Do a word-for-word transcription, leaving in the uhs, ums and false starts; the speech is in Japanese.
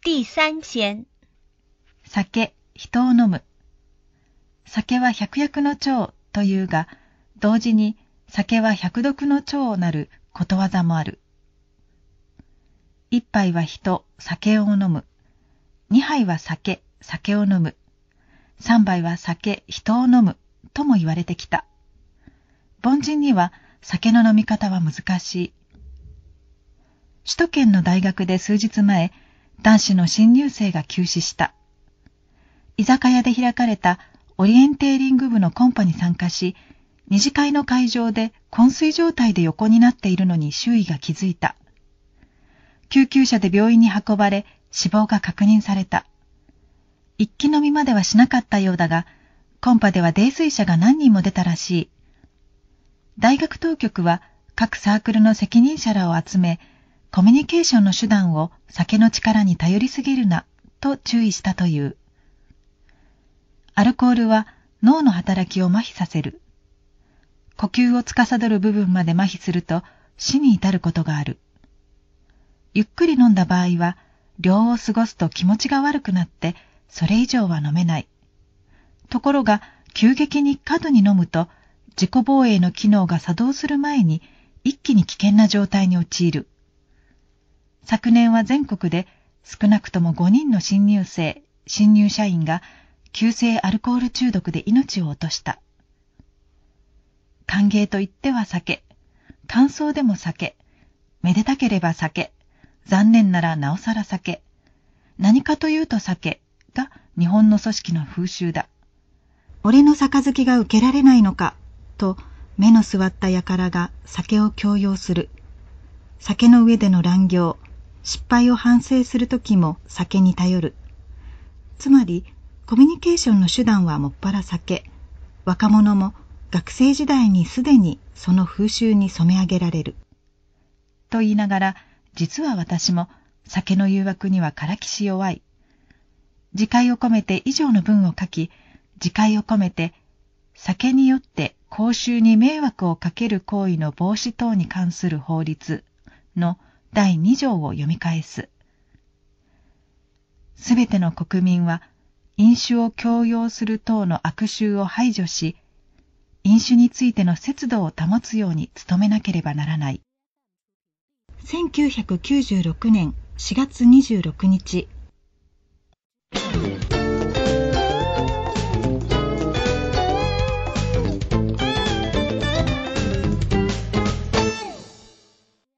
第三篇。 酒、人を飲む。酒は百薬の長というが、同時に酒は百毒の長なることわざもある。一杯は人、酒を飲む。二杯は酒、酒を飲む。三杯は酒、人を飲むとも言われてきた。凡人には酒の飲み方は難しい。首都圏の大学で数日前、男子の新入生が急死した。居酒屋で開かれたオリエンテーリング部のコンパに参加し、二次会の会場で昏睡状態で横になっているのに周囲が気づいた。救急車で病院に運ばれ、死亡が確認された。一気飲みまではしなかったようだが、コンパでは泥酔者が何人も出たらしい。大学当局は各サークルの責任者らを集め、コミュニケーションの手段を酒の力に頼りすぎるなと注意したという。アルコールは脳の働きを麻痺させる。呼吸を司る部分まで麻痺すると死に至ることがある。ゆっくり飲んだ場合は、量を過ごすと気持ちが悪くなって、それ以上は飲めない。ところが、急激に過度に飲むと、自己防衛の機能が作動する前に、一気に危険な状態に陥る。昨年は全国で少なくともごにんの新入生、新入社員が急性アルコール中毒で命を落とした。歓迎と言っては酒、感想でも酒、めでたければ酒、残念ならなおさら酒、何かというと酒が日本の組織の風習だ。俺の杯が受けられないのか、と目の座った輩が酒を強要する。酒の上での乱行、失敗を反省するときも酒に頼る。つまり、コミュニケーションの手段はもっぱら酒。若者も学生時代にすでにその風習に染め上げられる。と言いながら、実は私も酒の誘惑にはからきし弱い。自戒を込めて以上の文を書き、自戒を込めて、酒によって公衆に迷惑をかける行為の防止等に関する法律のだいに条を読み返す。すべての国民は飲酒を強要する等の悪習を排除し、飲酒についての節度を保つように努めなければならない。せんきゅうひゃくきゅうじゅうろくねんしがつにじゅうろくにち、